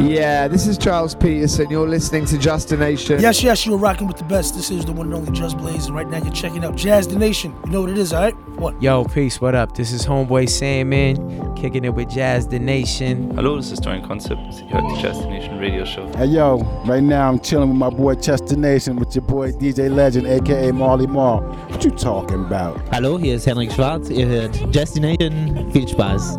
Yeah, this is Charles Peterson. You're listening to Just the Nation. Yes, you're rocking with the best. This is the one and only Just Blaze, and right now you're checking out Jazz the Nation. You know what it is, all right? What? Yo, peace, what up? This is Homeboy Sandman, kicking it with Jazz the Nation. Hallo, das ist Dorian Concept. Ihr hört die Jazz the Nation Radio Show. Hey yo, right now I'm chilling with my boy Chester Nation with your boy DJ Legend, aka Marley Marl. What you talking about? Hallo, hier ist Henrik Schwarz. Ihr hört Jazz the Nation. Viel Spaß.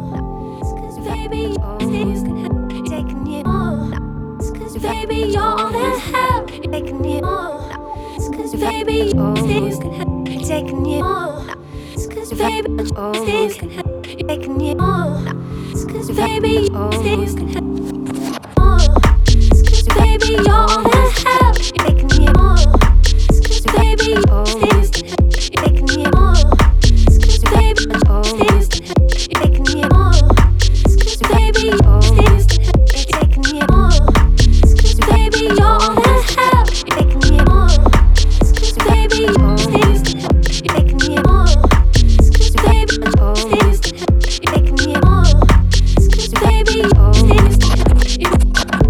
Baby, you're all that help, taking you on. Cause baby, things can help, taking you on. Cause baby, things can help, taking you on. Cause baby, things can help on. Cause baby, you're all that help, taking you on. Cause baby, things can help, taking you on. Cause baby, things can help, taking you on. Cause baby, things can help, taking you on. Baby, you're all that help, taking you on. Cause baby, things can help, taking you on. Cause baby, things can help, taking you on. Cause baby, things can help, you can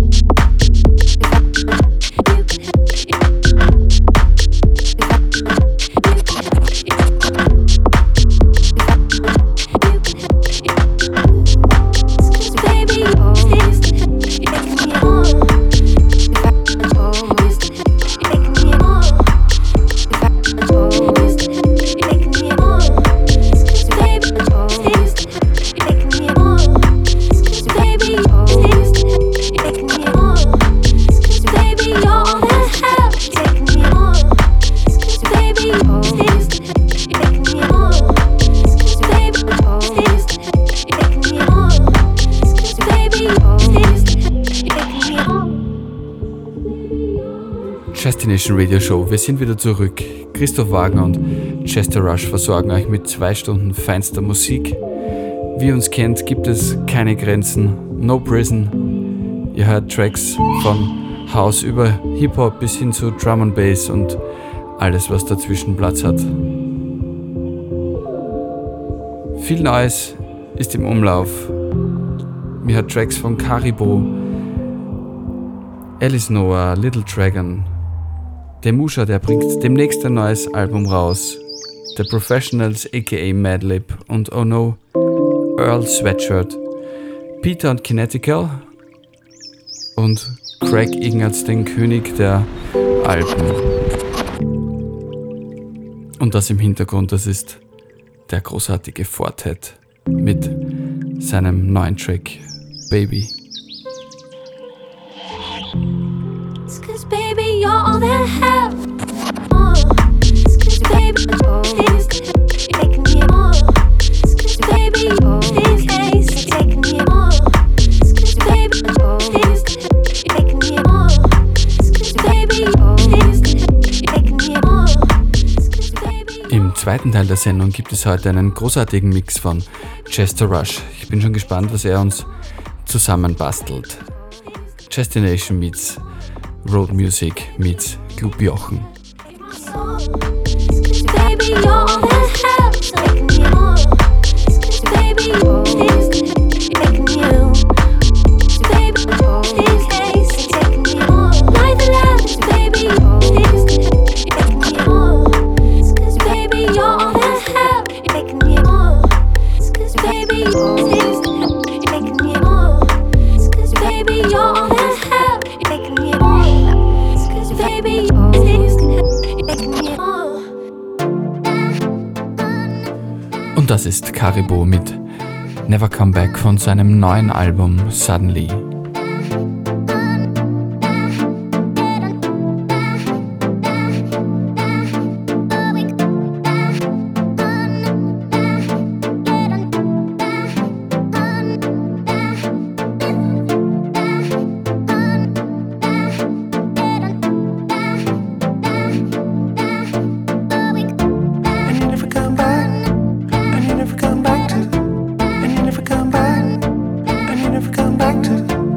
Destination Radio Show. Wir sind wieder zurück. Christoph Wagner und Chester Rush versorgen euch mit 2 Stunden feinster Musik. Wie ihr uns kennt, gibt es keine Grenzen. No Prison. Ihr hört Tracks von House über Hip-Hop bis hin zu Drum and Bass und alles, was dazwischen Platz hat. Viel Neues ist im Umlauf. Mir hat Tracks von Caribou, Alice Noah, Little Dragon, Demusha, der bringt demnächst ein neues Album raus, The Professionals aka Madlib und Oh No, Earl Sweatshirt, Peter und Kinetical und Craig Ignatz, den König der Alpen. Und das im Hintergrund, das ist der großartige Fortet mit seinem neuen Track Baby. Cause baby, you're all that help. Cause baby, things can help, taking you on. Cause baby, things can taking you on. Cause baby, things can help, taking you on. Cause baby, things can help, taking you on. Im zweiten Teil der Sendung gibt es heute einen großartigen Mix von Chester Rush. Ich bin schon gespannt, was er uns zusammenbastelt. Destination meets Road Music meets Club Jochen. Baby, you're all that help, taking you on. Cause baby, things can help, taking you. Baby, things can taking you on. Like the last, baby, things can help, taking you on. Cause baby, you're all that help, taking you on. Cause baby, things can help, taking you on. Cause baby, you're all that help, taking you on. Cause baby, things can help, taking you on. Und das ist Caribou mit Never Come Back von seinem neuen Album Suddenly. Come back to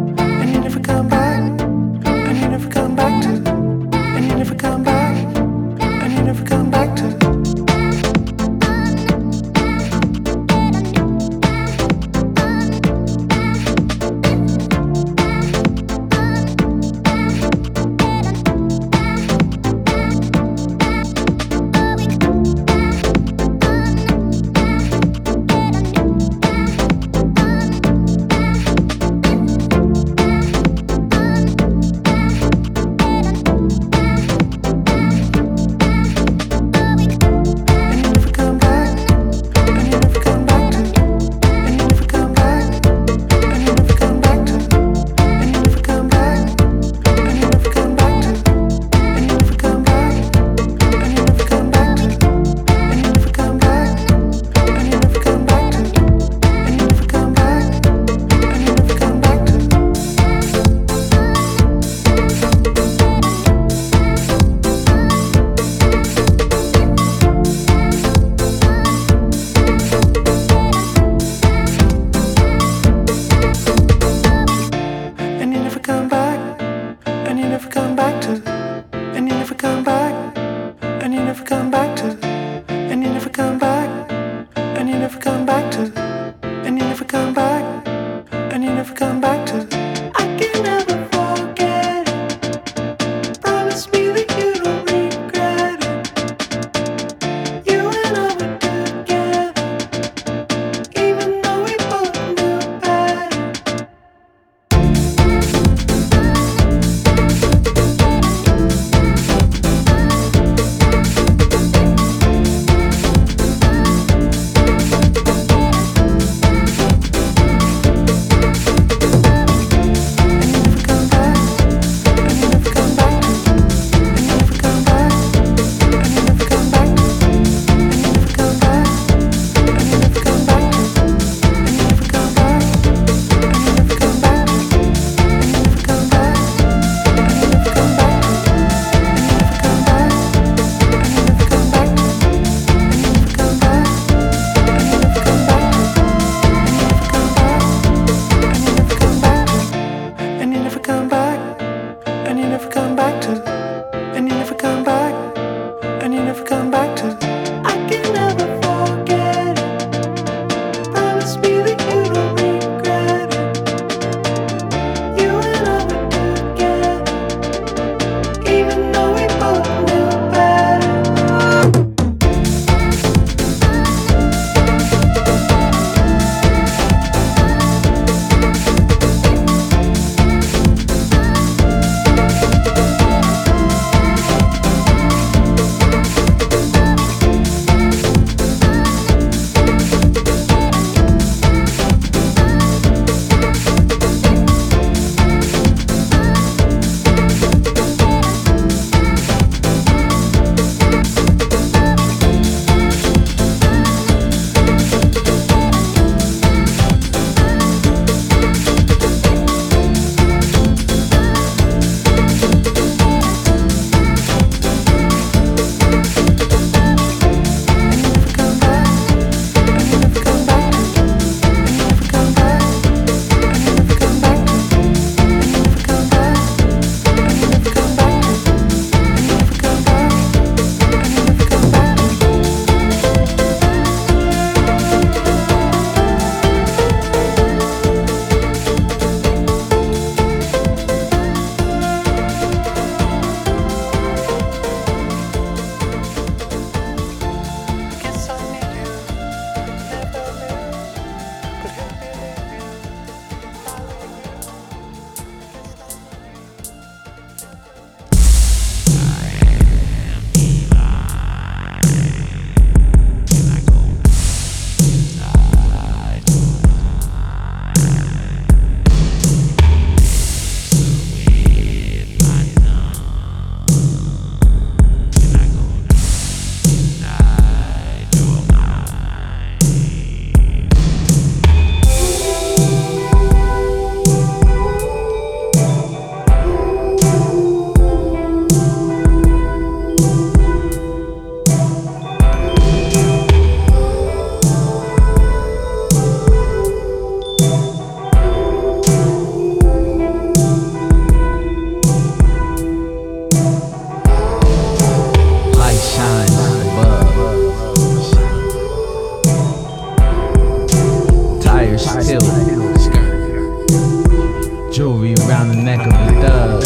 the neck of a dove.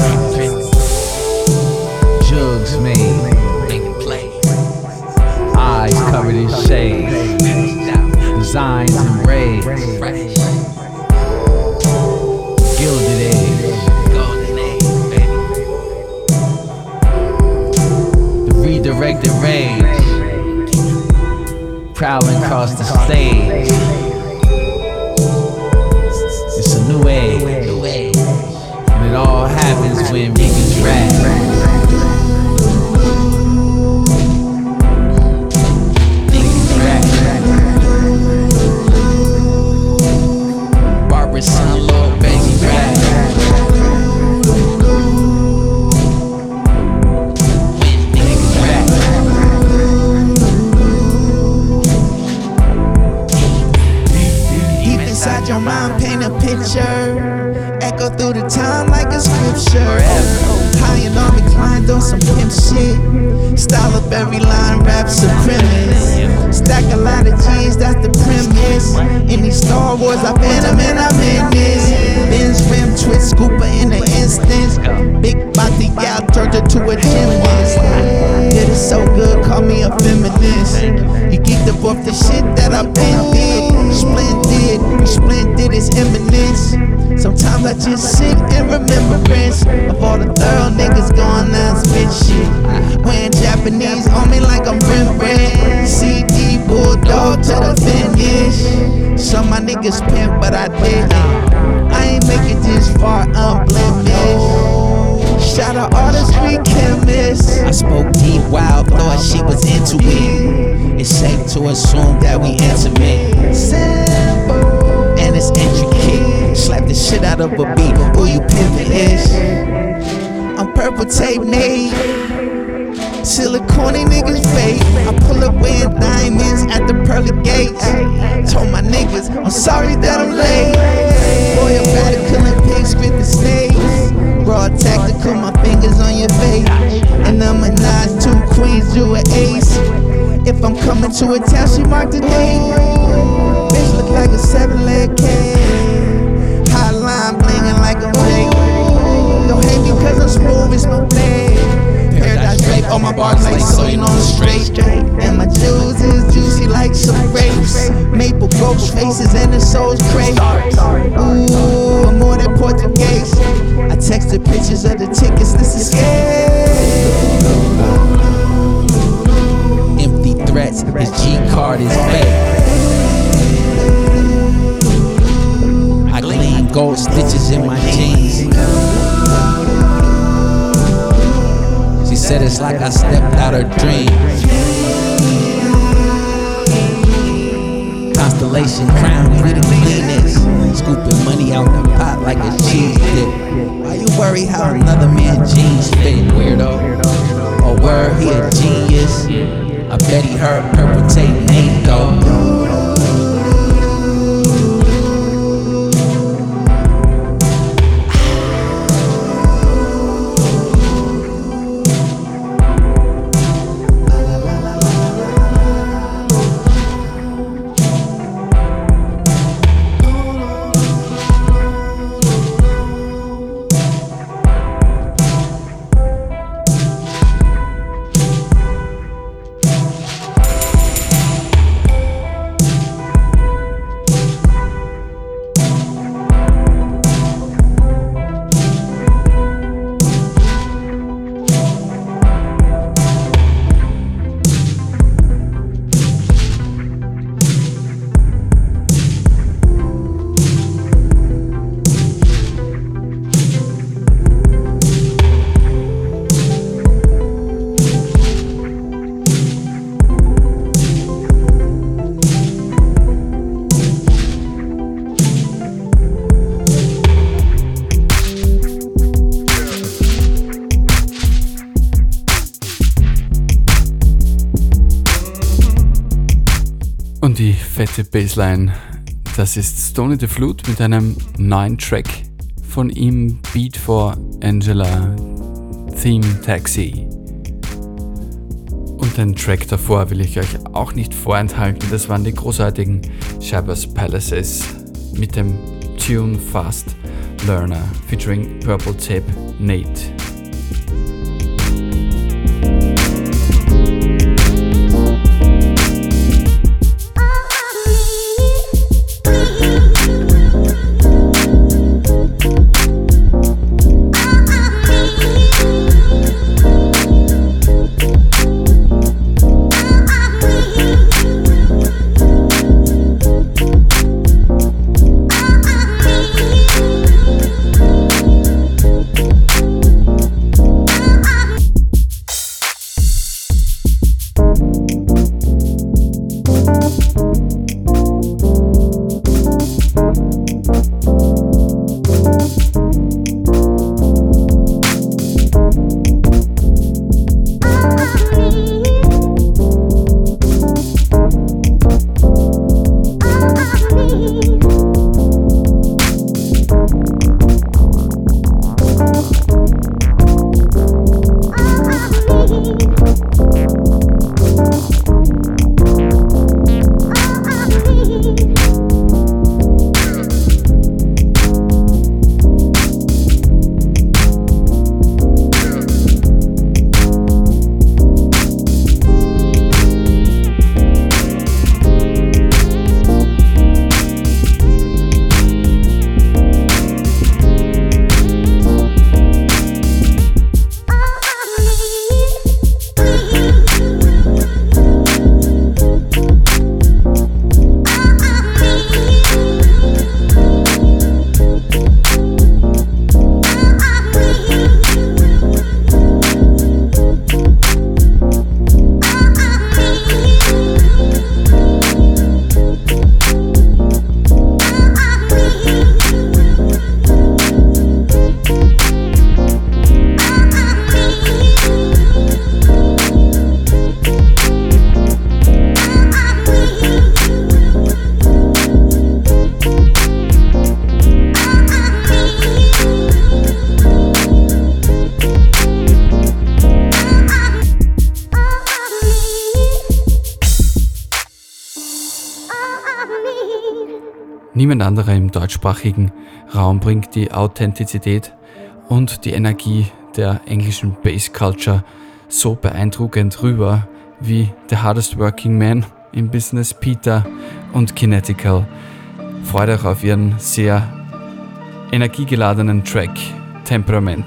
Jugs made, eyes covered in shades, designs engraved, gilded edge, the redirected rage, prowling across the stage. It's a new age, and it all happens when niggas rap. Son, Lord, baby, rap. Niggas rap. Deep inside your mind, paint a picture. Echo through the time like a scripture. High and on reclined on some pimp shit. Style of every line, rap supremacist. Stack a lot of G's, that's the premise. In these Star Wars, I've been them and I'm in this. Benz rim, twist, scooper in an instance. Big body gal turned her to a gymnast. Did it so good, call me a feminist. You geeked up off the shit that I've been did. Splendid is imminence. Sometimes I just sit in remembrance of all the thorough niggas going out spit shit. Wearing Japanese on me like I'm Rembrandt. CD bulldog to the finish. Some my niggas pimp, but I didn't. I ain't make it this far unblemished. Shout out all the street chemists. I spoke deep, wild, thought she was into it. It's safe to assume that we intimate. Simple and it's intricate. Slap the shit out of a beat. Who you pimpin' is? I'm purple tape made. Silicone niggas fake. I pull up wearing diamonds at the pearly gates. Told my niggas I'm sorry that I'm late. Boy, I'm better killing pigs, spit the snakes. Raw tactical, my fingers on your face. And I'm a Nas, 2 queens, you an ace. If I'm coming to a town, she marked the date. Bitch look like a 7-leg cat. Hotline blinging like a fake. Don't hate me cause I'm smooth, it's my thing. Paradise drape on my bars like so, you know I'm straight. And my jewels is juicy like some grapes. Maple ghost faces and the soul's crazy. Ooh, I'm more than Portuguese. I texted pictures of the tickets, this is empty threats, his G-card is fake. I gleam gold stitches in my jeans. She said it's like I stepped out her dream. Constellation crowned with the cleanest. Scooping money out the pot like a cheese dip. Why you worry how another man's jeans fit, weirdo? Oh, word, he a genius. I bet he heard purple tape name though. Und die fette Bassline, das ist Stoney the Flute mit einem neuen Track von ihm, Beat for Angela, Theme Taxi. Und den Track davor will ich euch auch nicht vorenthalten, das waren die großartigen Shabazz Palaces mit dem Tune Fast Learner featuring Purple Tape Nate. Niemand anderer im deutschsprachigen Raum bringt die Authentizität und die Energie der englischen Bass Culture so beeindruckend rüber wie The Hardest Working Man im Business, Peter und Kinetical. Freut euch auf ihren sehr energiegeladenen Track Temperament.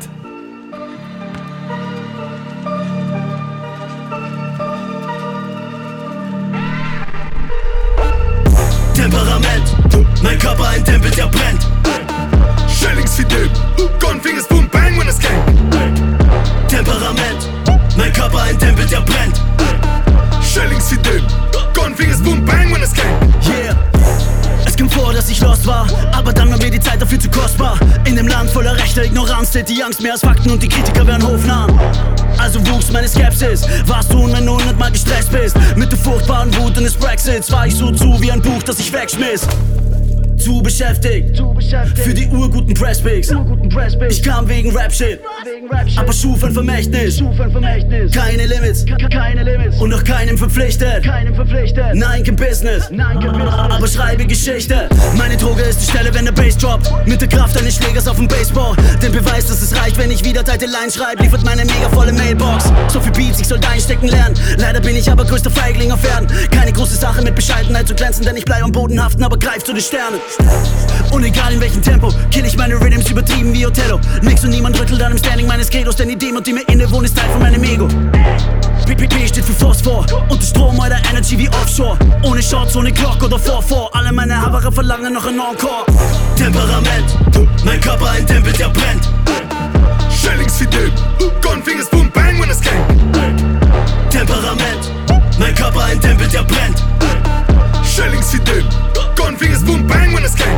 Temperament, mein Körper ein Tempel, der brennt. Schellings-Fidel, Gunfingers, boom, bang, when es gang. Temperament, mein Körper ein Tempel, der brennt. Schellings-Fidel, Gunfingers, boom, bang, when es gang. Yeah. Es kam vor, dass ich lost war, aber dann war mir die Zeit dafür zu kostbar. In dem Land voller rechter Ignoranz zählt die Angst mehr als Fakten und die Kritiker werden hofnah. Also wuchs meine Skepsis, warst du, wenn du 100-mal gestresst bist. Mit der furchtbaren Wut eines Brexits war ich so zu wie ein Buch, das ich wegschmiss. Zu beschäftigt für die urguten Presspics. Ich kam wegen Rap-Shit, aber schuf ein Vermächtnis. Keine Limits und noch keinem verpflichtet. Nein, kein Business, aber schreibe Geschichte. Meine Droge ist die Stelle, wenn der Bass droppt. Mit der Kraft eines Schlägers auf dem Baseball. Den Beweis, dass es reicht, wenn ich wieder teilte Lines schreibe, liefert meine mega volle Mailbox. So viel Beats, ich sollte einstecken lernen. Leider bin ich aber größter Feigling auf Erden. Keine große Sache mit Bescheidenheit zu glänzen, denn ich bleib am Boden haften, aber greif zu den Sternen. Und egal in welchem Tempo, kill ich meine Rhythms übertrieben wie Othello. Nix und niemand rüttelt an dem Standing meines Credos, denn die Demut, die mir innewohnt, ist Teil von meinem Ego. PPP steht für Phosphor und der Strom meiner Energy wie Offshore. Ohne Shots, ohne Glock oder 4-4, alle meine Havare verlangen noch ein Encore. Temperament, mein Körper ein Tempel, der brennt. Schellings-Fidel, Gunfingers, boom, bang, when es gang. Temperament, mein Körper ein Tempel, der brennt. Schellings-Fidel, Gunfingers, boom, bang, when es gang.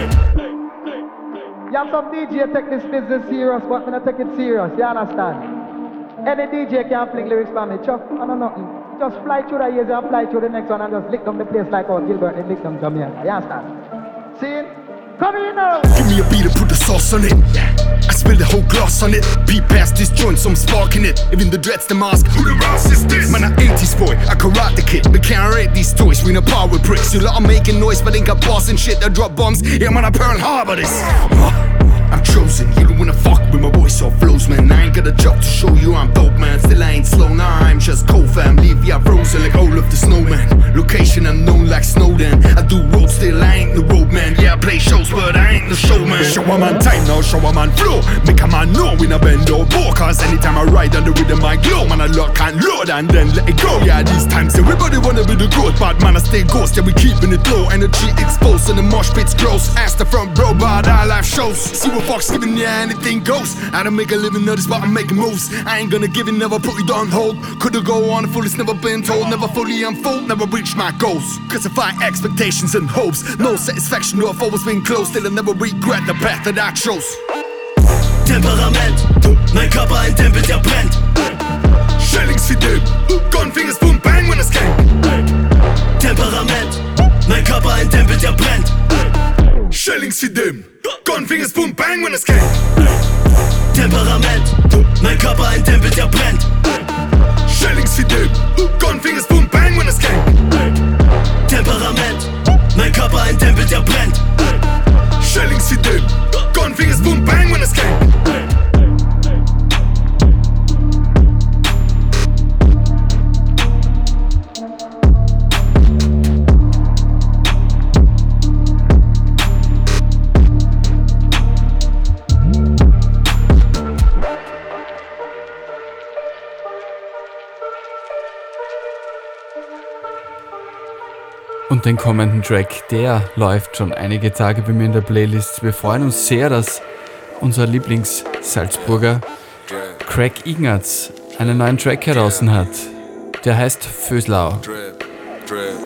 Yeah, some DJ take this business serious, but me not take it serious, you understand? Any DJ can fling lyrics for me, Chuck, I know nothing. Just fly through the years and fly through the next one and just lick them the place like how Gilbert and lick them Jamaica, you understand? See? Come here now! Give me a beat and put the sauce on it. I spill the whole gloss on it. Beat past this joint, so I'm sparking it. Even the dreads, the mask. Who the Ross is this? Man, I ain't this boy, I karate kid. We can't rate these toys, we no power with bricks. You lot are making noise, but ain't got boss and shit that drop bombs. Yeah, man, I Pearl Harbor this. I'm I'm chosen. You don't wanna fuck with my voice or flows, man. I ain't got a job to show you I'm dope, man. Still I ain't slow, nah, I'm just cold, fam. Leave ya frozen like all of the snowman. Location unknown like Snowden. I do road, still I ain't the road, man. Yeah, I play shows, but I ain't the showman. Show a man time now, show a man flow. Make a man know when I bend or bow. Cause anytime I ride on the rhythm I glow. Man, I lock and load and then let it go. Yeah, these times everybody wanna be the goat, but man, I stay ghost. Yeah, we keeping it low. Energy exposed and the mosh pit's close. Ask the front bro about our live shows. See what fuck's giving, yeah, anything goes. I don't make a living of this, but I'm making moves. I ain't gonna give it, never put it on hold. Could've go on full, it's never been told. Never fully unfold, never reach my goals. Cause if I expectations and hopes, no satisfaction, no, I've always been close. Still I never regret the path that I chose. Temperament, mein Körper ein Tempel, der brennt. Shellings wie Dip, Gunfingers, boom, bang, when es gang. Temperament, mein Körper ein Tempel, der brennt. Shellings wie Dip, Gunfingers, boom, bang, when es gang. Temperament, mein Körper ein Tempel, der brennt. Shellings wie Dip, Gunfingers, boom, bang, when es gang. Temperament, mein Körper ein Tempel, der brennt. Shellings wie Dip, Gunfingers, boom, bang, when es gang. Und den kommenden Track, der läuft schon einige Tage bei mir in der Playlist. Wir freuen uns sehr, dass unser Lieblings-Salzburger Craig Ignatz einen neuen Track heraus hat. Der heißt Föslau. Drip, drip,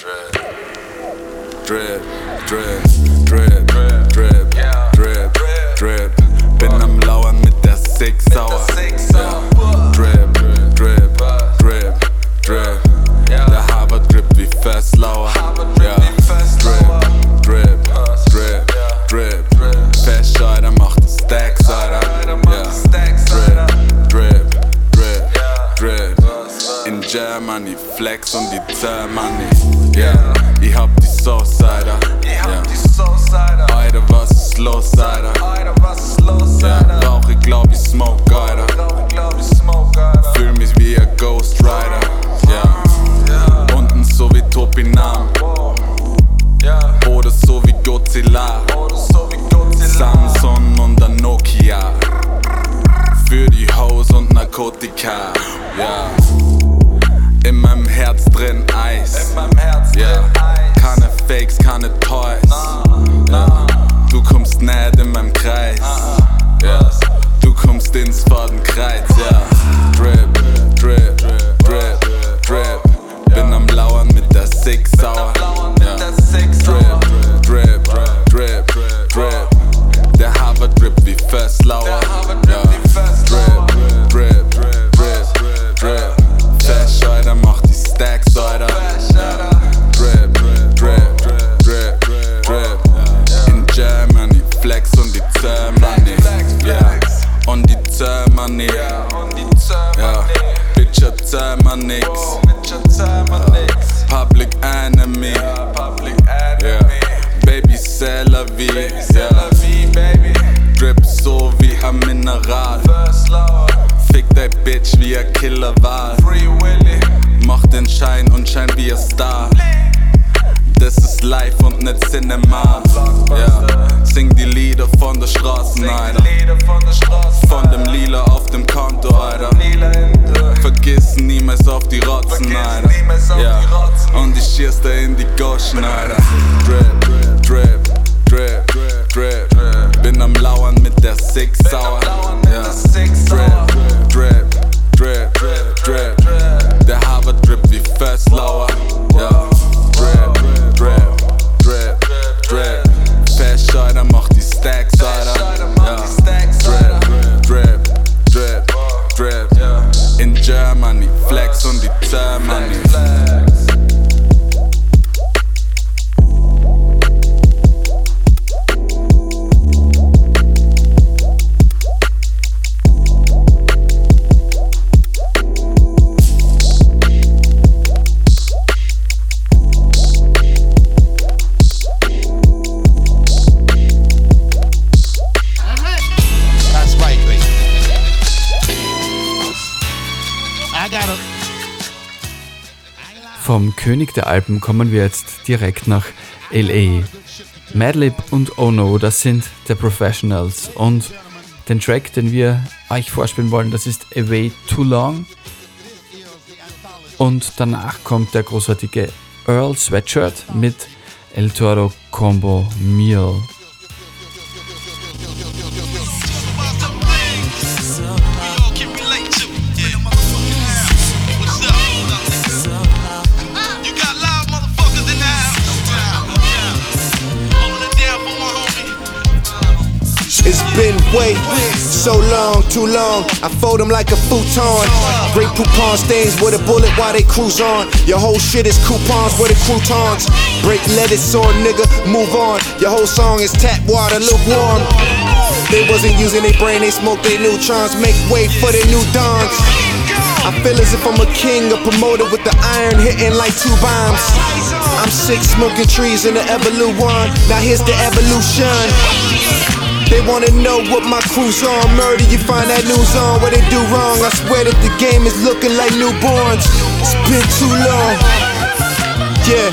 drip, drip, drip, drip, drip, drip. Bin am Lauern mit der Six Sauer. Drip, drip, drip, drip. Der Harvard drip wie Festlauer. Drip, drip, drip, drip. Festscheider macht den Stacks, Alter. Drip, drip, drip, drip. In Germany, Flex und die Zermoney. Yeah, ich hab die Sauce, Alter. Alter, was ist los, Alter? Yeah, rauch ich glaub ich smoke, Alter. Fühl mich wie ein Ghost Rider. Yeah, unten so wie Topinam. Oder so wie Godzilla. Samsung und ein Nokia. Für die Hoes und Narkotika. Yeah. In meinem Herz drin Eis. Yeah. Keine Fakes, keine Toys. Yeah. Du kommst nicht in meinem Kreis. Yeah. Du kommst ins Fadenkreuz. Yeah. Drip, drip, drip, drip. Bin am Lauern mit der Six Sauer. Yeah. Drip, drip, drip, drip. Der Harvard drip wie Festlauer. Yeah. Drip, drip, drip, drip. Festscheider macht die Stacks, Alter. Yeah. Drip, drip, drip, drip. In Germany, Flex und die Zermoney. Yeah. Und die Zermoney. Yeah. Bitcher Zermer nix. Public Enemy. Yeah. Baby Cella wie. Yeah. Drip so wie ein Mineral. Fick dein Bitch wie ein Killerwal. Mach den Schein und schein wie ein Star. Das ist live und nicht Cinema. Yeah. Sing die Lieder von der Straße, Alter. Von dem Lila auf dem Konto, Alter. Vergiss niemals auf die Rotzen, Alter. Yeah. Und ich schieß da in die Goschen, Alter. Drip, drip, drip, drip. Bin am Lauern mit der Six Sauer. Yeah. Drip, drip, drip, drip. Der Harvard drip wie Festlauer. Yeah. Drip, drip, drip, drip. Festscheider macht die Stacks, Alter. Yeah. Drip, drip, drip, drip. In Germany, Flex und die Zermoney. Vom König der Alpen kommen wir jetzt direkt nach L.A. Madlib und Oh No, das sind The Professionals. Und den Track, den wir euch vorspielen wollen, das ist Away Too Long. Und danach kommt der großartige Earl Sweatshirt mit El Toro Combo Meal. It's been way so long, too long. I fold them like a futon. Great coupon stains with a bullet while they cruise on. Your whole shit is coupons with the croutons. Break lettuce on, nigga, move on. Your whole song is tap water, lukewarm. They wasn't using their brain, they smoked their neutrons. Make way for their new dons. I feel as if I'm a king, a promoter with the iron hitting like 2 bombs. I'm sick smoking trees in the Evolute one. Now here's the evolution. They wanna know what my crew's on. Murder, you find that news on. What they do wrong, I swear that the game is looking like newborns. It's been too long. Yeah.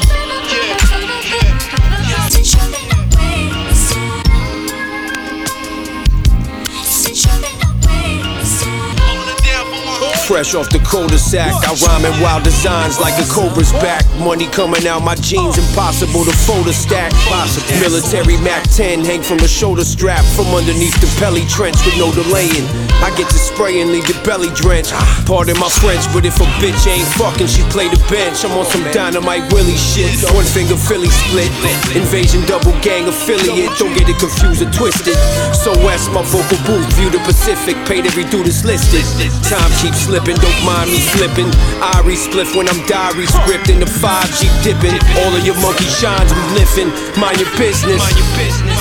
Fresh off the cul-de-sac, I rhyme in wild designs like a cobra's back. Money coming out my jeans, impossible to fold a stack. Military Mac 10 hang from the shoulder strap, from underneath the pelly trench with no delaying. I get to spray and leave your belly drenched. Pardon my French, but if a bitch ain't fucking, she play the bench. I'm on some Dynamite Willie shit. One finger Philly split. Invasion double gang affiliate. Don't get it confused or twisted. So West, my vocal booth, view the Pacific. Paid every dude that's listed. Time keeps slipping, don't mind me slipping. Irie spliff when I'm diary script in the 5G dipping. All of your monkey shines, we lifting. Mind your business. Mind your business.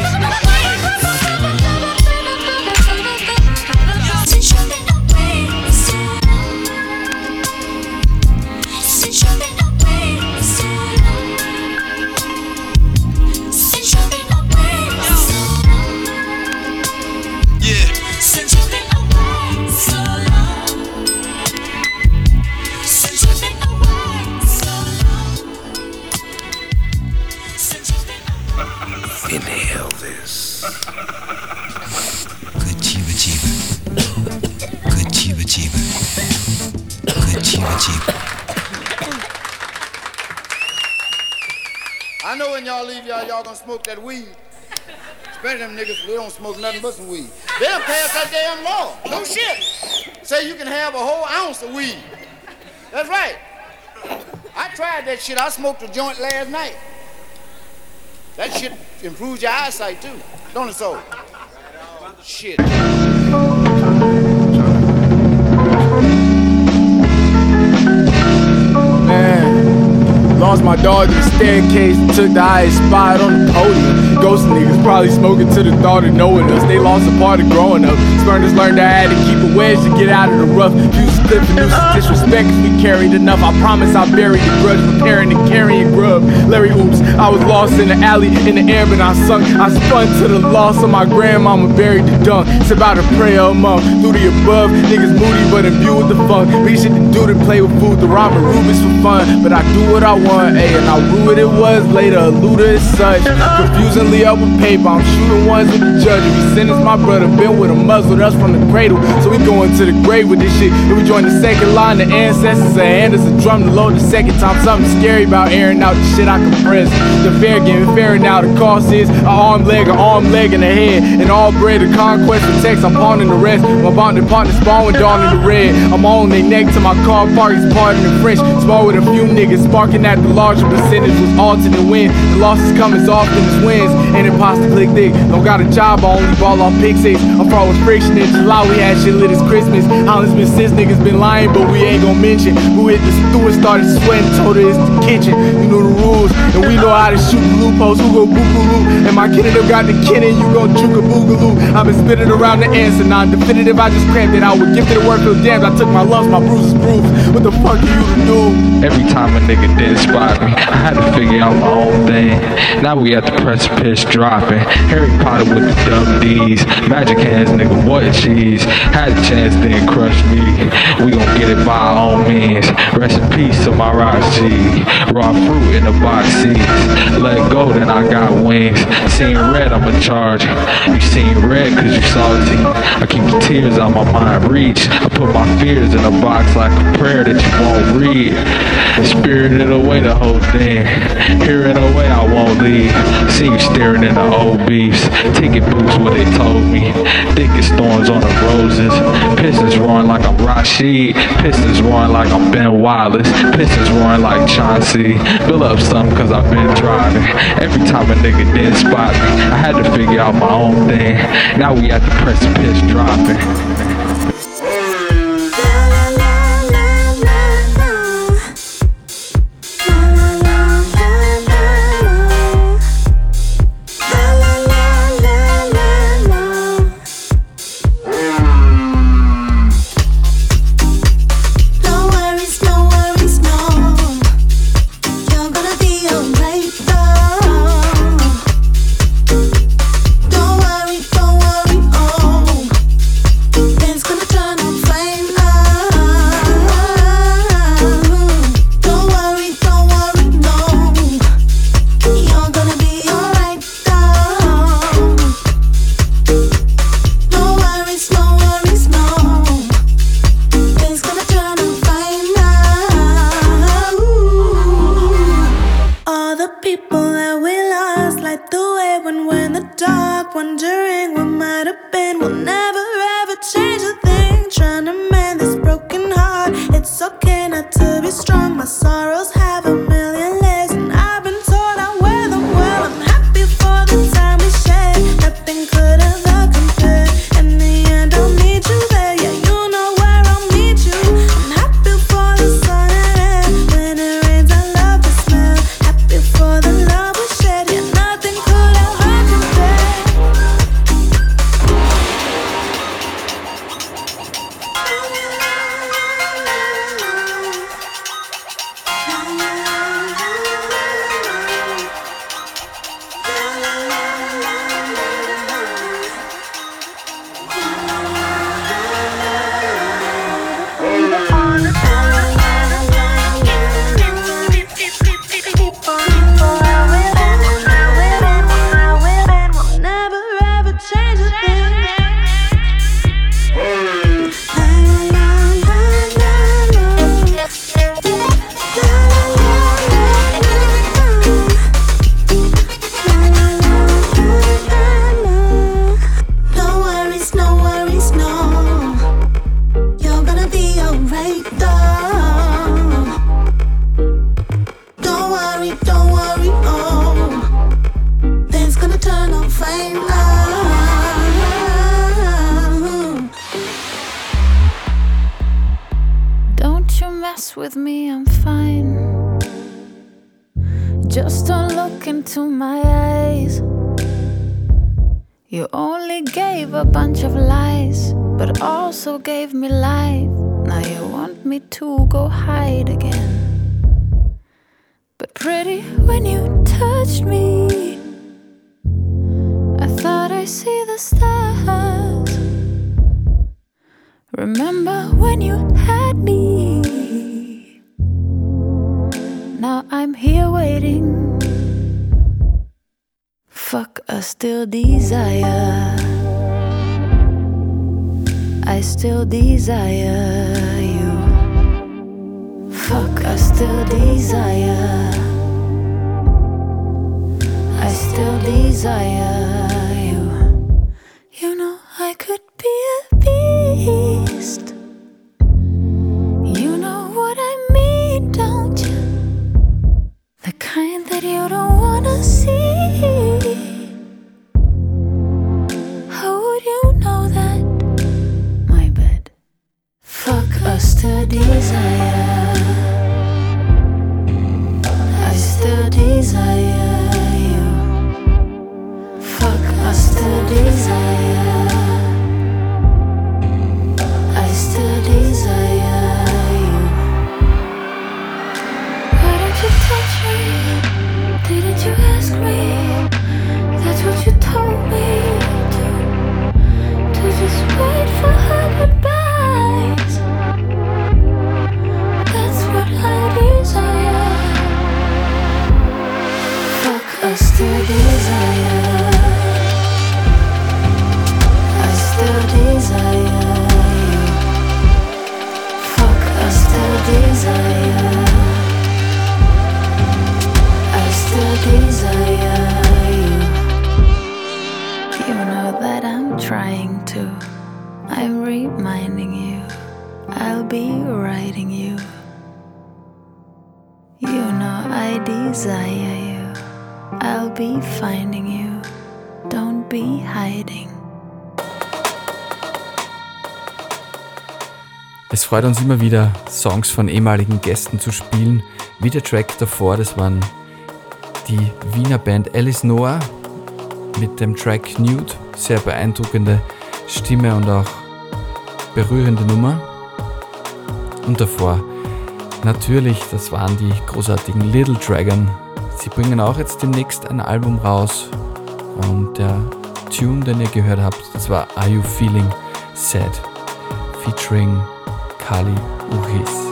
Inhale this. Good chiba chiba. Good chiba chiba. Good chiba chiba. I know when y'all leave y'all gonna smoke that weed. Especially them niggas, they don't smoke nothing but some weed. They don't pass that damn law. No shit. Say you can have a whole ounce of weed. That's right. I tried that shit. I smoked a joint last night. That shit improves your eyesight too, don't it so? Shit. Man, lost my dog to the staircase, took the highest spot on the podium. Ghost niggas probably smoking to the thought of knowing us. They lost a part of growing up. Spurners learned I had to keep a wedge to get out of the rough. Fuse clip and nuisance disrespect cause we carried enough. I promise I buried the grudge, preparing and carrying grub. Larry oops, I was lost in the alley, in the air but I sunk. I spun to the loss of my grandmama, buried the dunk. It's about a prayer among through the above. Niggas moody but imbued with the funk. Big shit to do to play with food, the rhyme and Rubens for fun. But I do what I want, ayy, and I rue what it was later. A looter as such, confusingly up with paper. I'm shooting ones with the judge. If he sentenced my brother, been with a muzzled us from the cradle. So we going to the grave with this shit. Then we join the second line, the ancestors a hand us a drum to load the second time. Something scary about airing out the shit I compress. The fair game, fair now. The cost is an arm, leg, and a head. And all bread, the conquest of text. I'm pawning the rest. My bonding partner spawn with dawn in the red. I'm on their neck to my car park is parting the French. Small with a few niggas sparking at the larger percentage was alternate win. The losses come as often as wins. And imposter click thick. Don't got a job, I only ball off pick six. I'm far with friction in July. We had shit lit as Christmas. Holland's been since niggas been lying, but we ain't gon' mention who hit the stew and started sweating. Told her it's the kitchen. You know the rules. And we know how to shoot the loopholes, who go boo-boo-loo. And my kid and them got the kin and you gon' juke a boogaloo. I've been spitting around the answer, non-definitive, I just crammed it out. With gifted the word, feel damned, I took my loves, my bruises bruised. What the fuck are you to do? Every time a nigga did spot me, I had to figure out my own thing. Now we at the precipice dropping. Harry Potter with the dumb D's. Magic hands, nigga, what cheese. Had a chance, then crushed me. We gon' get it by our own means. Rest in peace to my rock G. Raw fruit in the box seats. Let go, then I got wings. Seen red, I'm in charge. You seen red cause you salty. I keep the tears on my mind reach. I put my fears in a box like a prayer that you won't read. Spirited away the whole thing. Hearing away I won't leave. See you staring in the old beefs. Ticket booths what they told me. Thickest thorns on the roses. Pistons roaring like I'm Rashid. Pistons roaring like I'm Ben Wallace. Pistons roaring like Chauncey. Build up something cause I've been driving. Every time a nigga did spot me, I had to figure out my own thing. Now we at the precipice dropping. With me, I'm fine. Just don't look into my eyes. You only gave a bunch of lies, but also gave me life. Now you want me to go hide again. But pretty, when you touched me, I thought I see the stars. Remember when you had me? Now I'm here waiting. Fuck, I still desire. I still desire you. Fuck, I still desire. I still desire you. You know I could be a beast. You know what I mean, don't you? The kind that you don't wanna see. How would you know that? My bad. Fuck, I still desire. I still desire. I'm reminding you, I'll be writing you. You know I desire you, I'll be finding you. Don't be hiding. Es freut uns immer wieder, Songs von ehemaligen Gästen zu spielen, wie der Track davor, das waren die Wiener Band Alice Noah mit dem Track Nude, sehr beeindruckende Stimme und auch berührende Nummer. Und davor natürlich, das waren die großartigen Little Dragon. Sie bringen auch jetzt demnächst ein Album raus und der Tune, den ihr gehört habt, das war Are You Feeling Sad featuring Kali Uchis.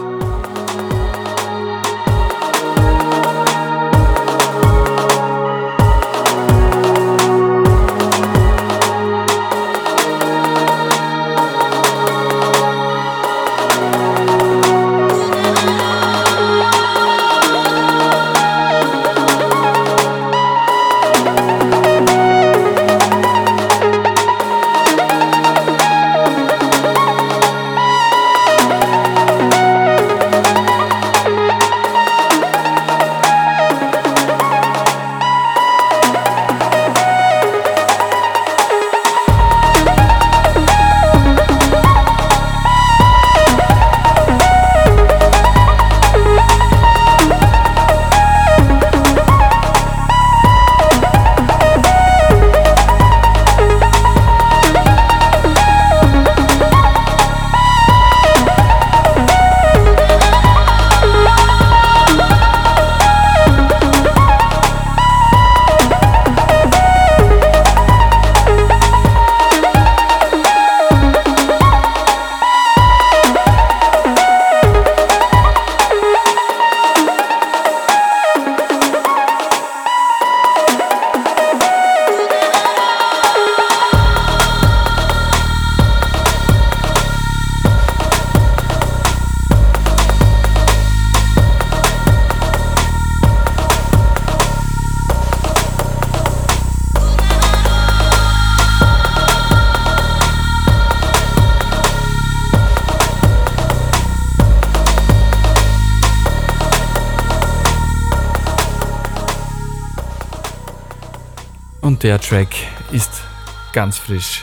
Und der Track ist ganz frisch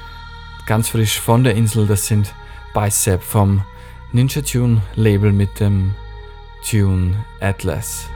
von der Insel. Das sind Bicep vom Ninja Tune Label mit dem Tune Atlas.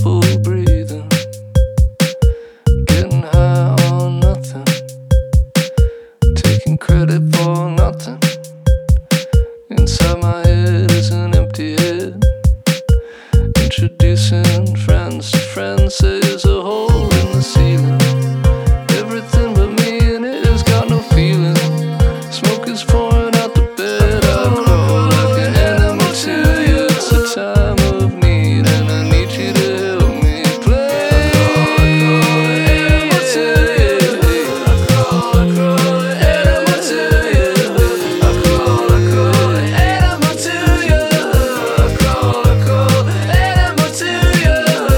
full breathing, getting high on nothing, taking credit for nothing. Inside my head is an empty head, introducing friends to friends. There's a hole in the ceiling, everything but me and it has got no feeling. Smoke is pouring out the bed, I crawl like an enemy to you. It's a time of need and I need you to help me play. Enemy to you, I crawl, enemy to you, I crawl, enemy to you, I crawl, enemy to you.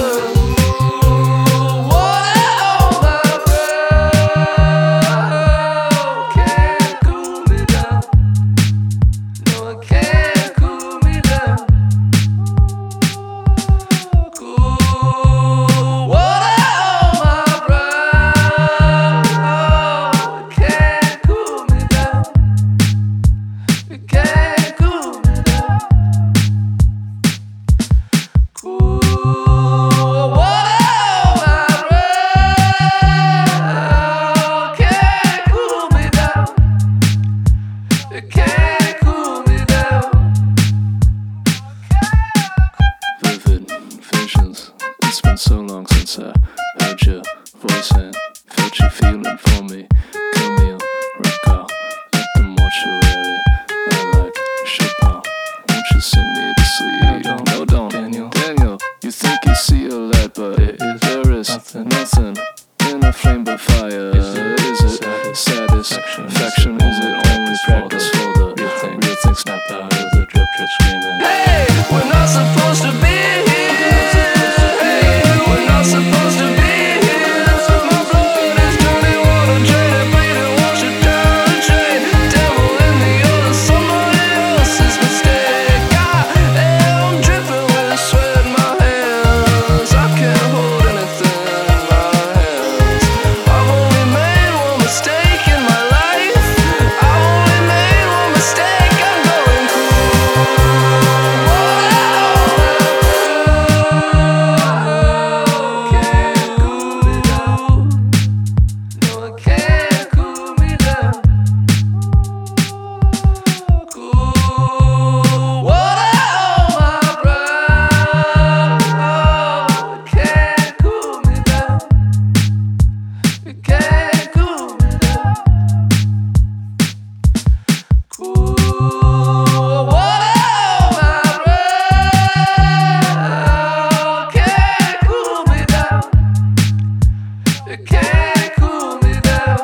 What my breath can't cool me down. No, it can't cool me down. Cool water on my brow. It can't cool me down. It can't cool me down. Cool water on my brow. Can't cool me down. It can't cool me down. Vivid visions. It's been so long since I heard your voice and felt you feeling for me. Camille, recall at the mortuary. I like Chopin. Won't you sing me to sleep? No, don't. Daniel, you think you see a light, but there is nothing in a flame but fire. Is it satisfaction? Is it only practice for the real thing? Snap out of the drip screaming. Hey, we're not supposed to be here. Hey, we're not supposed to be here. My blood is dirty water, drain it, bleed it, wash it down the drain. Devil in the other, somebody else's mistake. I am dripping with sweat in my hands. I can't hold anything in my hands. I've only made one mistake in my life. I've only made one mistake. I'm going can't cool me down. Cool water on my brow. It can't cool me down. It can't cool me down. Cool water on my brow. Can't cool me down. It can't cool me down.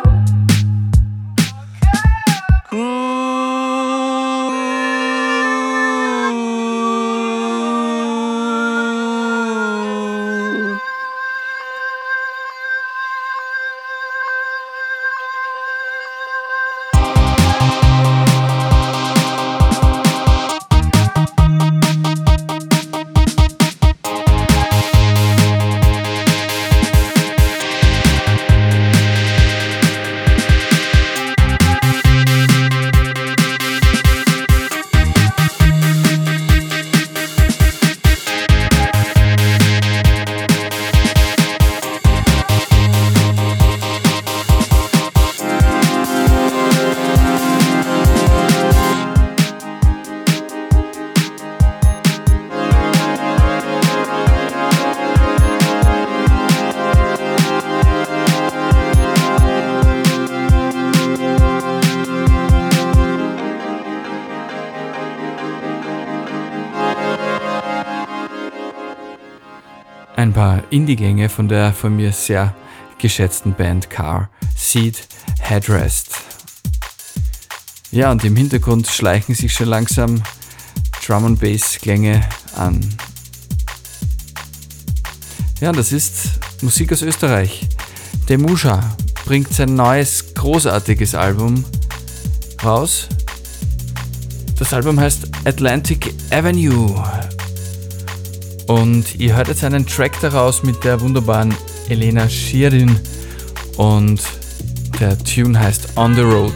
Ein paar Indie-Gänge von der von mir sehr geschätzten Band Car, Seed, Headrest. Ja, und im Hintergrund schleichen sich schon langsam Drum and Bass Klänge an. Ja, das ist Musik aus Österreich. Demusha bringt sein neues, großartiges Album raus. Das Album heißt Atlantic Avenue. Und ihr hört jetzt einen Track daraus mit der wunderbaren Elena Schirin. Und der Tune heißt On the Road.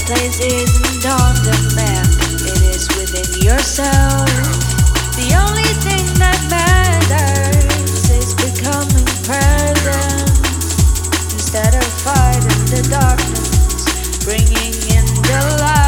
place isn't on the map, it is within yourself. The only thing that matters is becoming present. Instead of fighting the darkness, bringing in the light.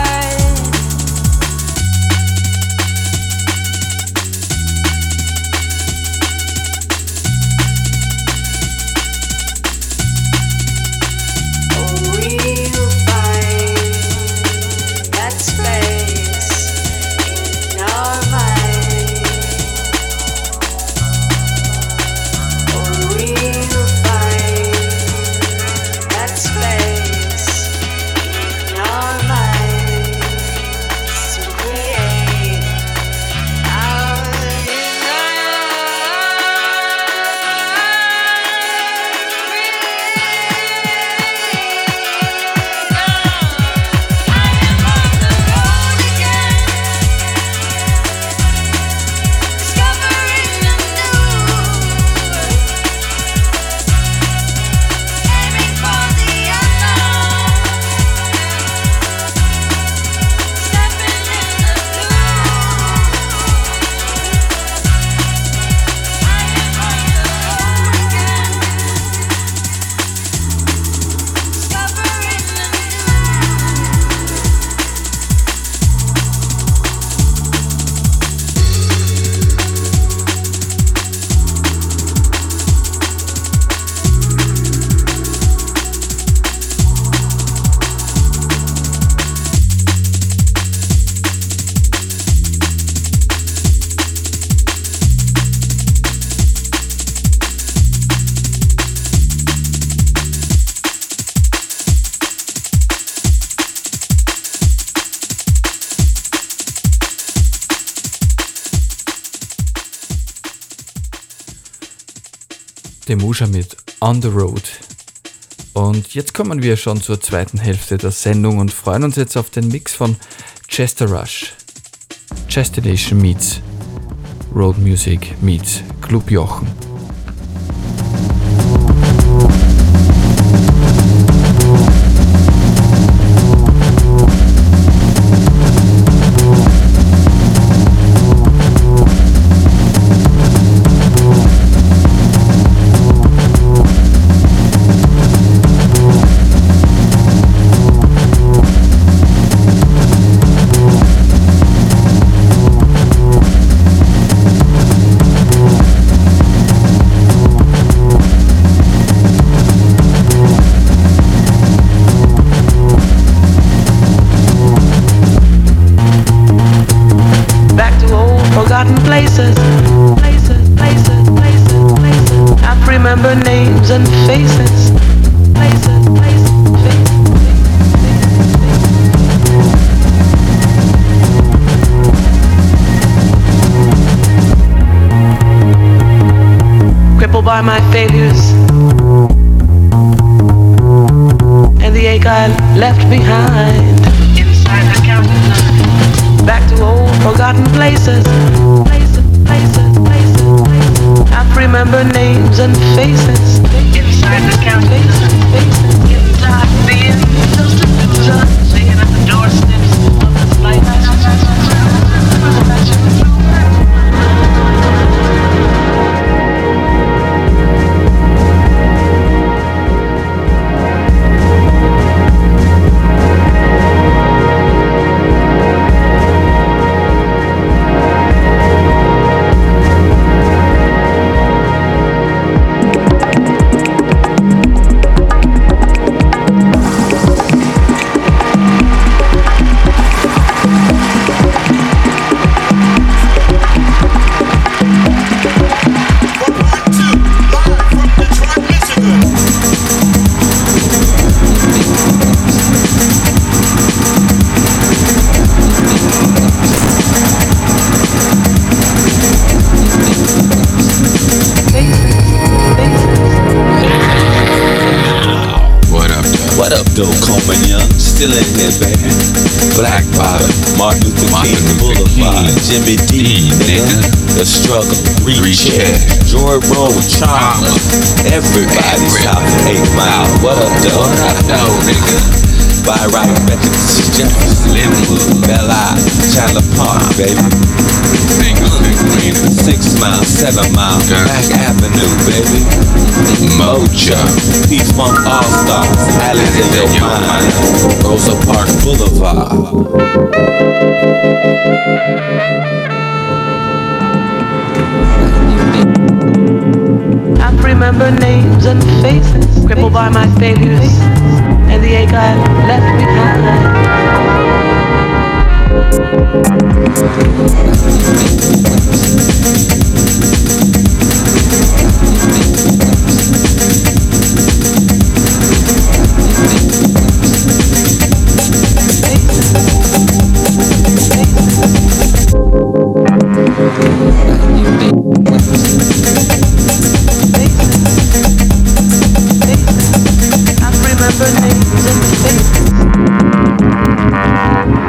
Demusha mit On the Road. Und jetzt kommen wir schon zur zweiten Hälfte der Sendung und freuen uns jetzt auf den Mix von Chester Rush. Chestination meets Road Music meets Club Jochen. By my failures and the ache I left behind inside the counter. Back to old forgotten places. I remember names and faces inside the counter. Inside the illusion, singing at the doorsteps of this light. Still in here, baby. Black Bottom, Martin Luther King Boulevard, Jimmy D, nigga. The Struggle, Reach George Road, Trauma. Everybody's top 8 Mile. What up, though? What up, though, nigga? By right, bet you this is Jefferson, Linwood, Belle Isle, Chandler Park, baby. 6 miles, 7 miles, Back Avenue, baby. Mojo, P-Funk All-Stars, Alleys in your mind, Rosa Parks Boulevard. I remember names and faces, crippled by my failures and the ache I left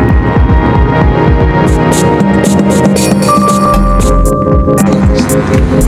behind.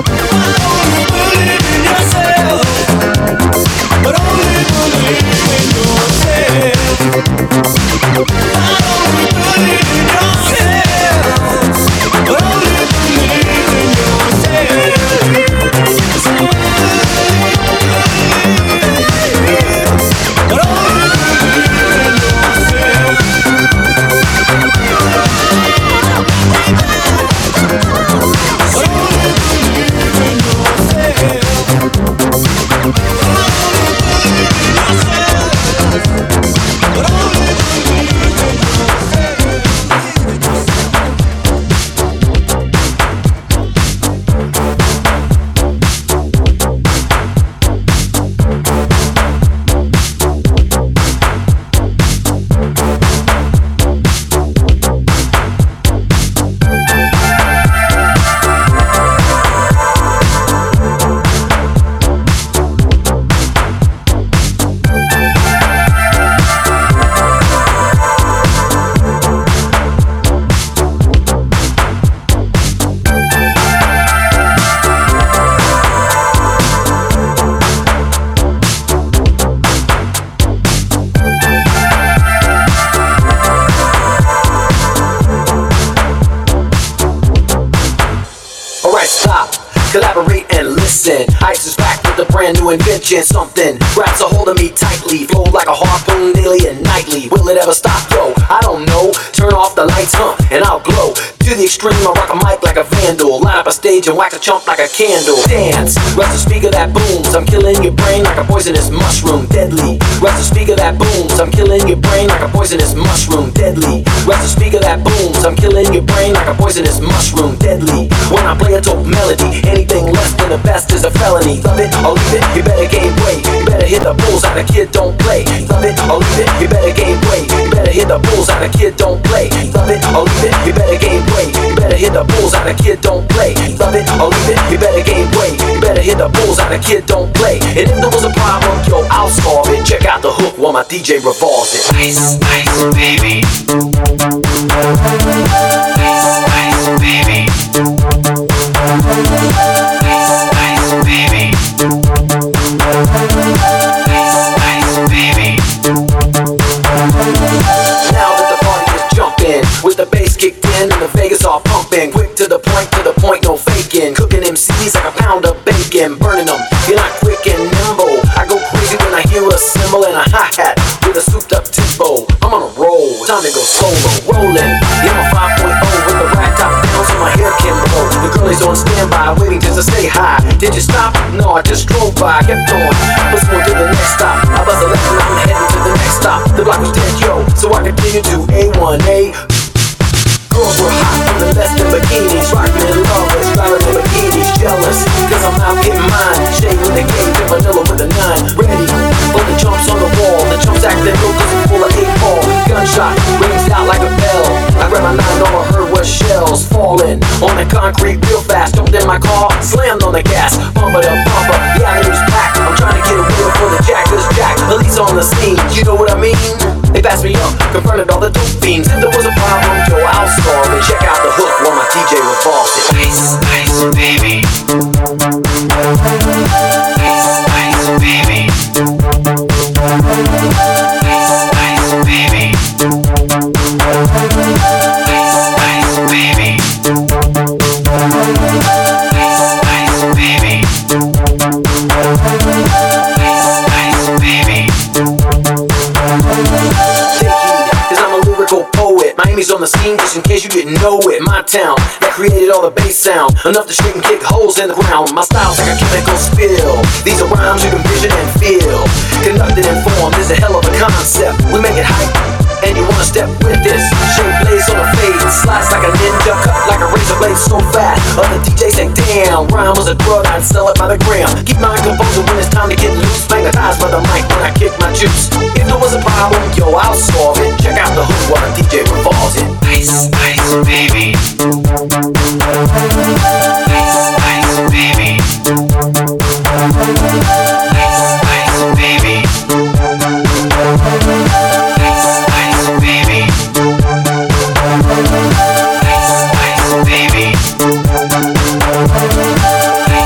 Collaborate and listen. Ice is back with a brand new invention. Something grabs a hold of me tightly. Flow like a harpoon daily and nightly. Will it ever stop? Yo, I don't know. Turn off the lights, and I'll glow. To the extreme, I rock a mic like a vandal. Line up a stage and wax a chump like a candle. Dance, rush the speaker that booms. I'm killing your brain like a poisonous mushroom. Deadly, rush the speaker that booms. I'm killing your brain like a poisonous mushroom. Deadly, rush the speaker that booms. I'm killing your brain like a poisonous mushroom. Deadly, when I play a dope melody, anything less than the best is a felony. Love it or leave it, you better gain weight. You better hit the bullseye, the kid don't play. Love it or leave it, you better gain weight. You better hit the bullseye, the kid don't play. Love it or leave it, you better gain weight. You better hit the bullseye, the kid don't play. Love it or leave it, you better gain weight. You better hit the bullseye, the kid don't play. And if there was a problem, yo, I'll solve it. Check out the hook while my DJ revolves it. Ice, ice, baby. Ice, ice, baby. Ice, ice, baby. Ice, ice, baby. Now that the party is jumping, with the bass kicked in and the Vegas all pumping, quick to the point, no faking. Cooking MCs like a pound of bacon, burning them. You're not quick and nimble. I go crazy when I hear a cymbal and a hi-hat with a souped up tempo. I'm on a roll, time to go solo, rolling. Yeah, I'm a 5.0 with the rack top down so my hair can blow. The girl is on standby, waiting just to say hi. Did you stop? No, I just drove by, kept on. Let's go to the next stop. I bust a left and I'm heading to the next stop. The block was dead, yo, so I continued to A1A. Girls were hot from the best in bikinis, rockin' in lovers, styling in bikinis, jealous, cause I'm out getting mine. Shade with a cage and vanilla with a 9. Ready for the jumps on the wall. The jumps acting real cause it's full of 8-ball. Gunshot rings out like a bell. I grabbed my 9, all I heard was shells falling on the concrete real fast. Jumped in my car, slammed on the gas, bumper to bumper, the avenue's packed. I'm trying to get a wheel for the jack, cause Jack, police on the scene, you know what I mean? They passed me up, confronted all the dope fiends. If there was a problem, yo, I'll solve it. Check out the hook while my DJ revolves it. Ice, ice, baby. Ice, ice, baby. Ice, ice, baby. Ice, ice, baby. Ice, ice, baby. Ice, ice, baby. Cause I'm a lyrical poet. Miami's on the scene just in case you didn't know it. My town that created all the bass sound, enough to straighten kick holes in the ground. My style's like a chemical spill. These are rhymes you can vision and feel. Conducted and formed is a hell of a concept. We make it hype and you wanna step with this. Shape blaze on the fade, slice like a ninja, cut like a razor blade so fast. Other DJs say damn, rhyme was a drug, I'd sell it by the gram. Keep my composure when it's time to get loose. Magnetized by the mic when I kick my juice. If there was a problem, yo, I'll solve it. Check out the hook while the DJ revolves it. Ice, ice, baby. Ice, ice, baby. Ice, ice, baby. Ice, ice, baby. Ice, ice, baby. Ice,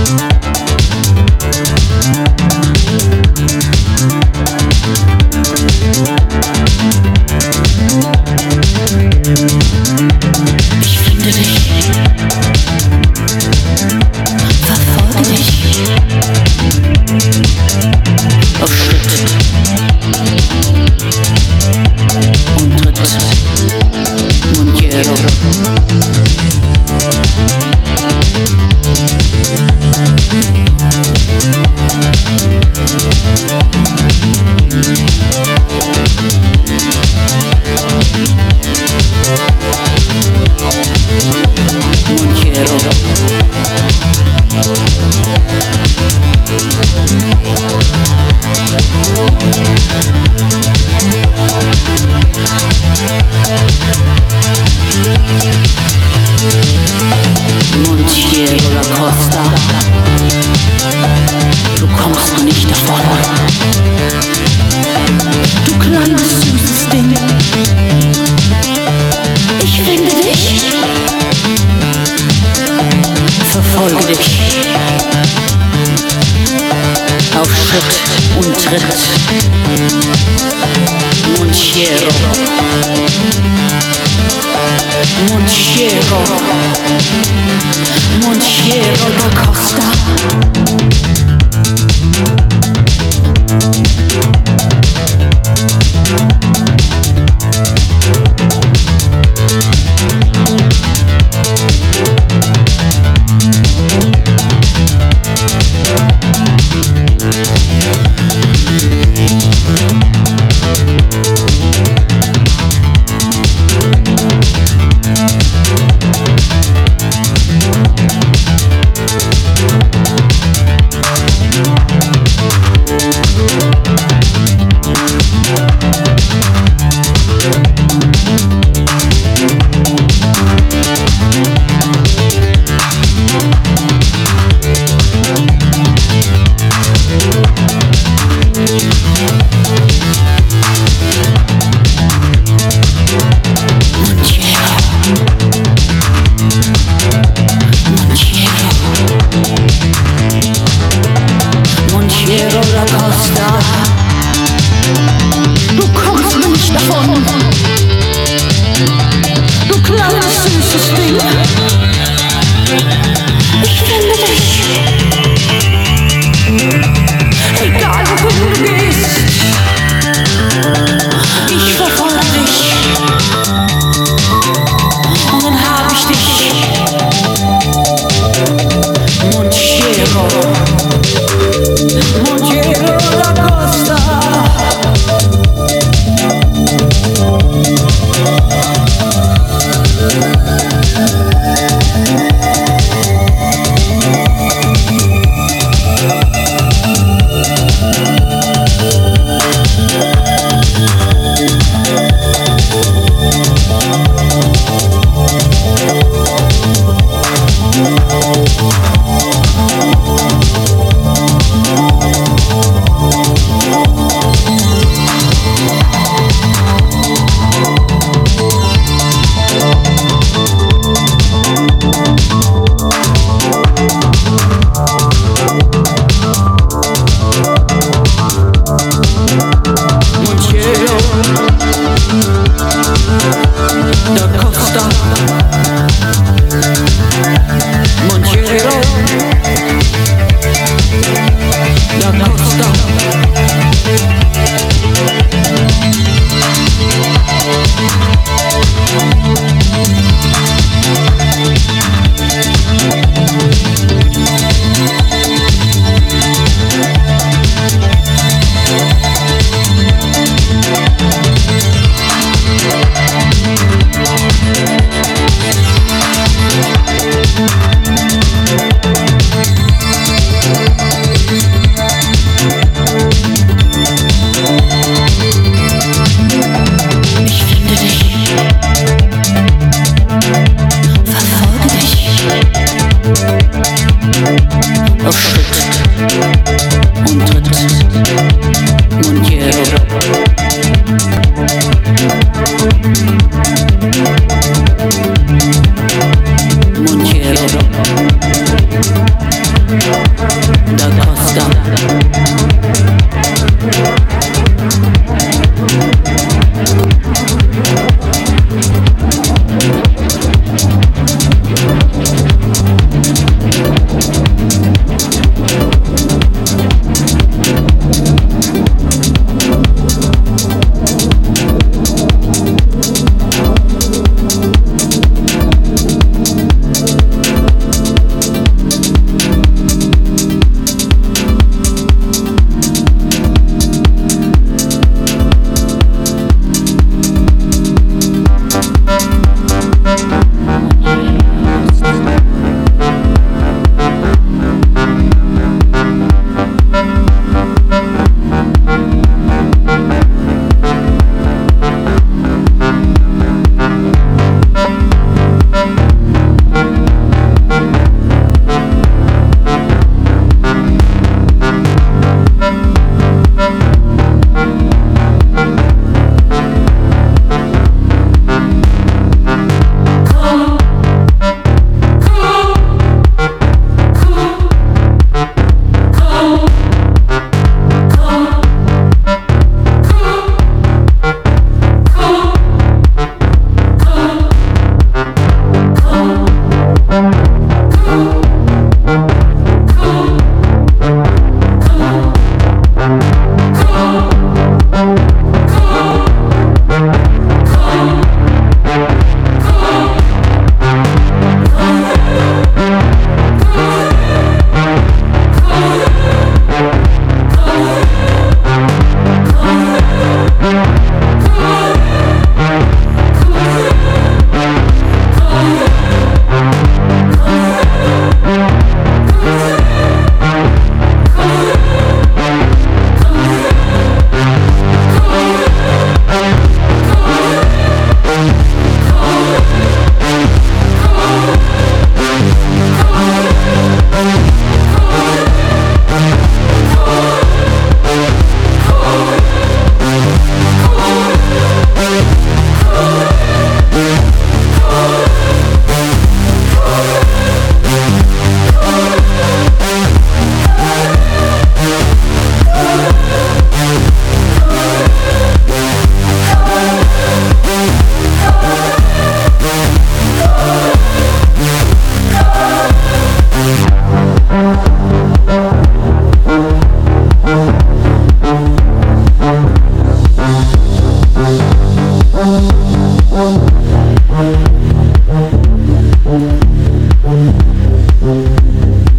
Montiero.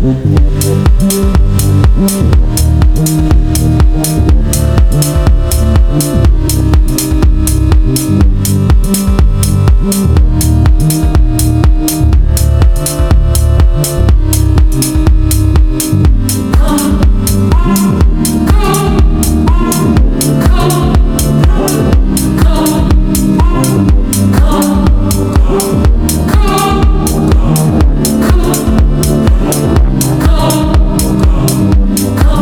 Come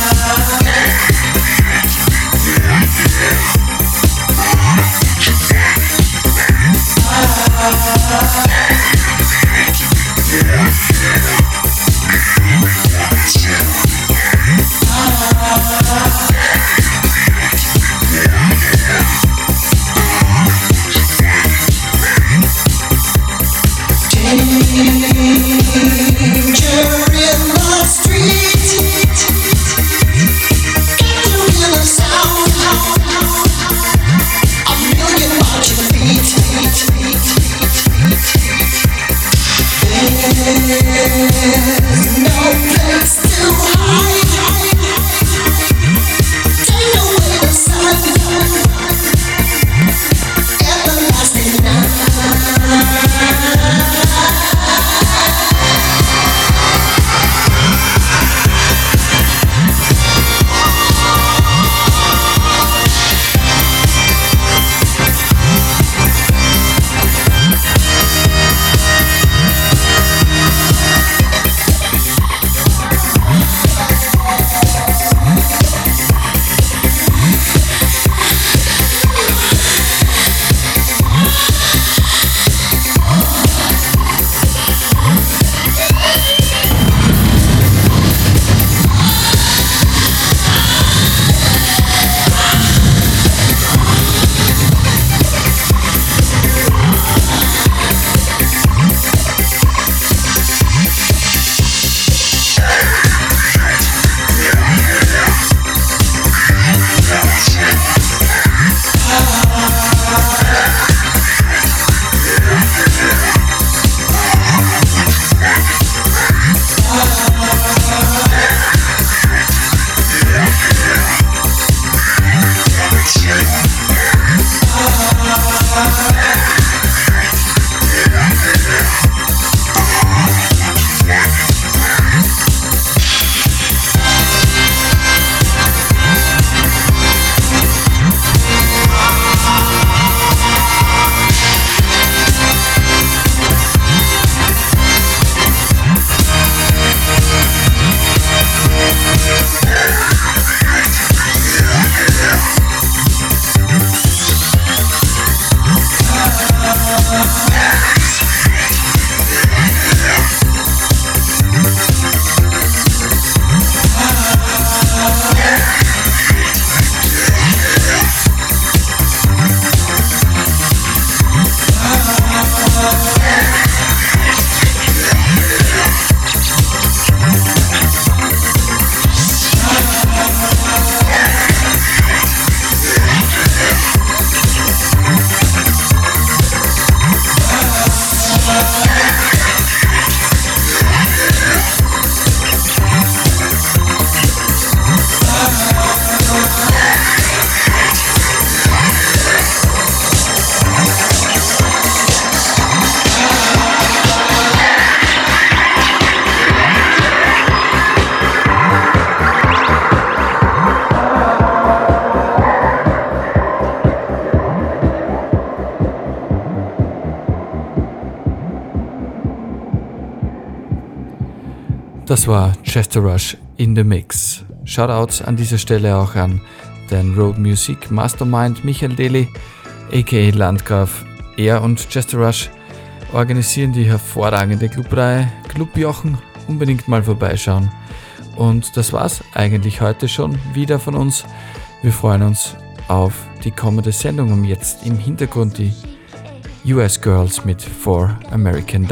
Das war Chester Rush in the Mix. Shoutouts an dieser Stelle auch an den Road Music Mastermind Michael Deli, aka Landgraf. Er und Chester Rush organisieren die hervorragende Clubreihe Club Jochen. Unbedingt mal vorbeischauen. Und das war's eigentlich heute schon wieder von uns. Wir freuen uns auf die kommende Sendung. Und jetzt im Hintergrund die US Girls mit $4 American.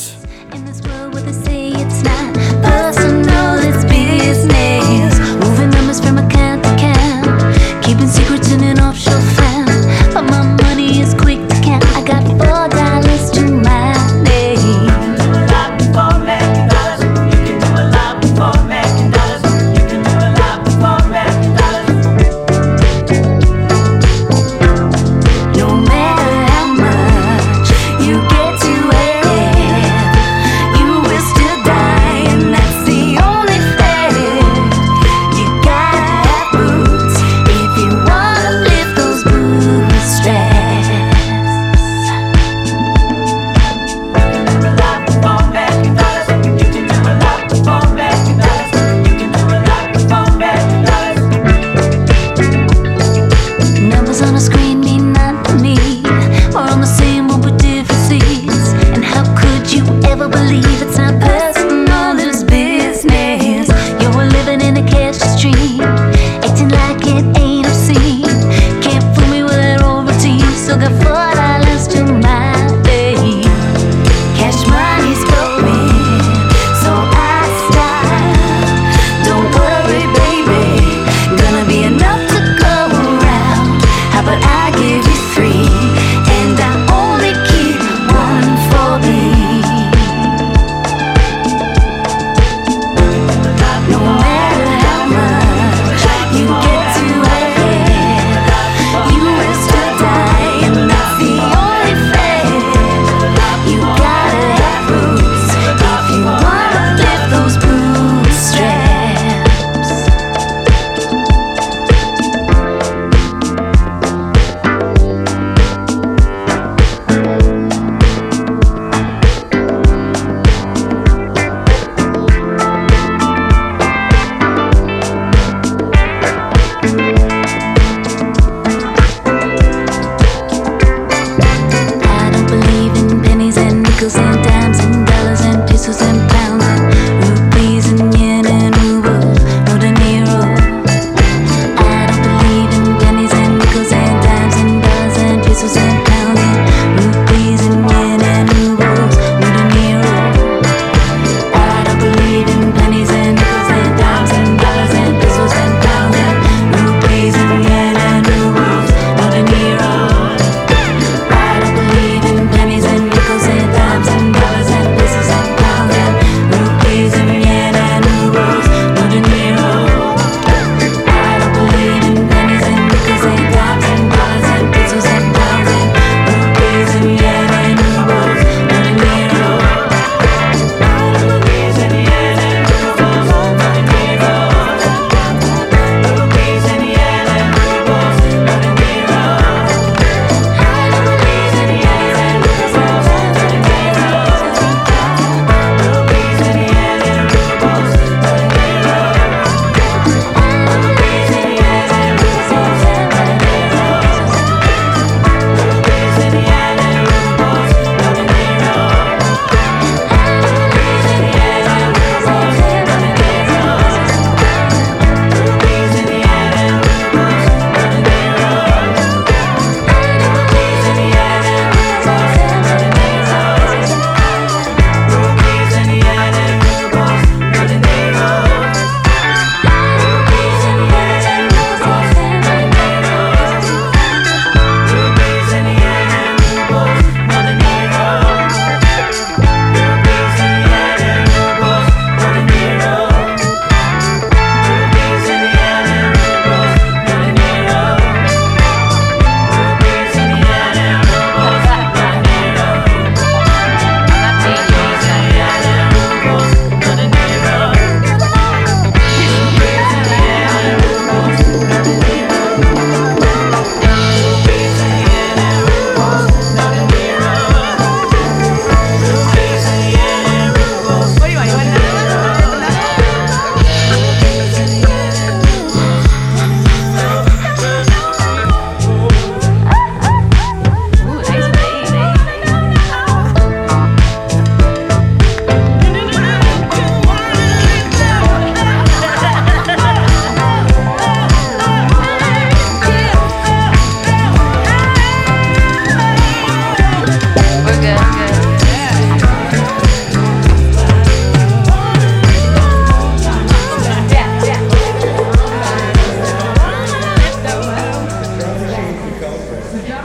Personal, it's business. Moving numbers from account to account. Keeping secrets in an offshore fund. But my money is quick to count. I got $4 to my name. You can do a lot with $4 American. You can do a lot with $4 American. You can do a lot with $4 American. No matter how much you get to have, you will still die, and that's the only fair.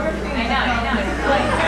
I know.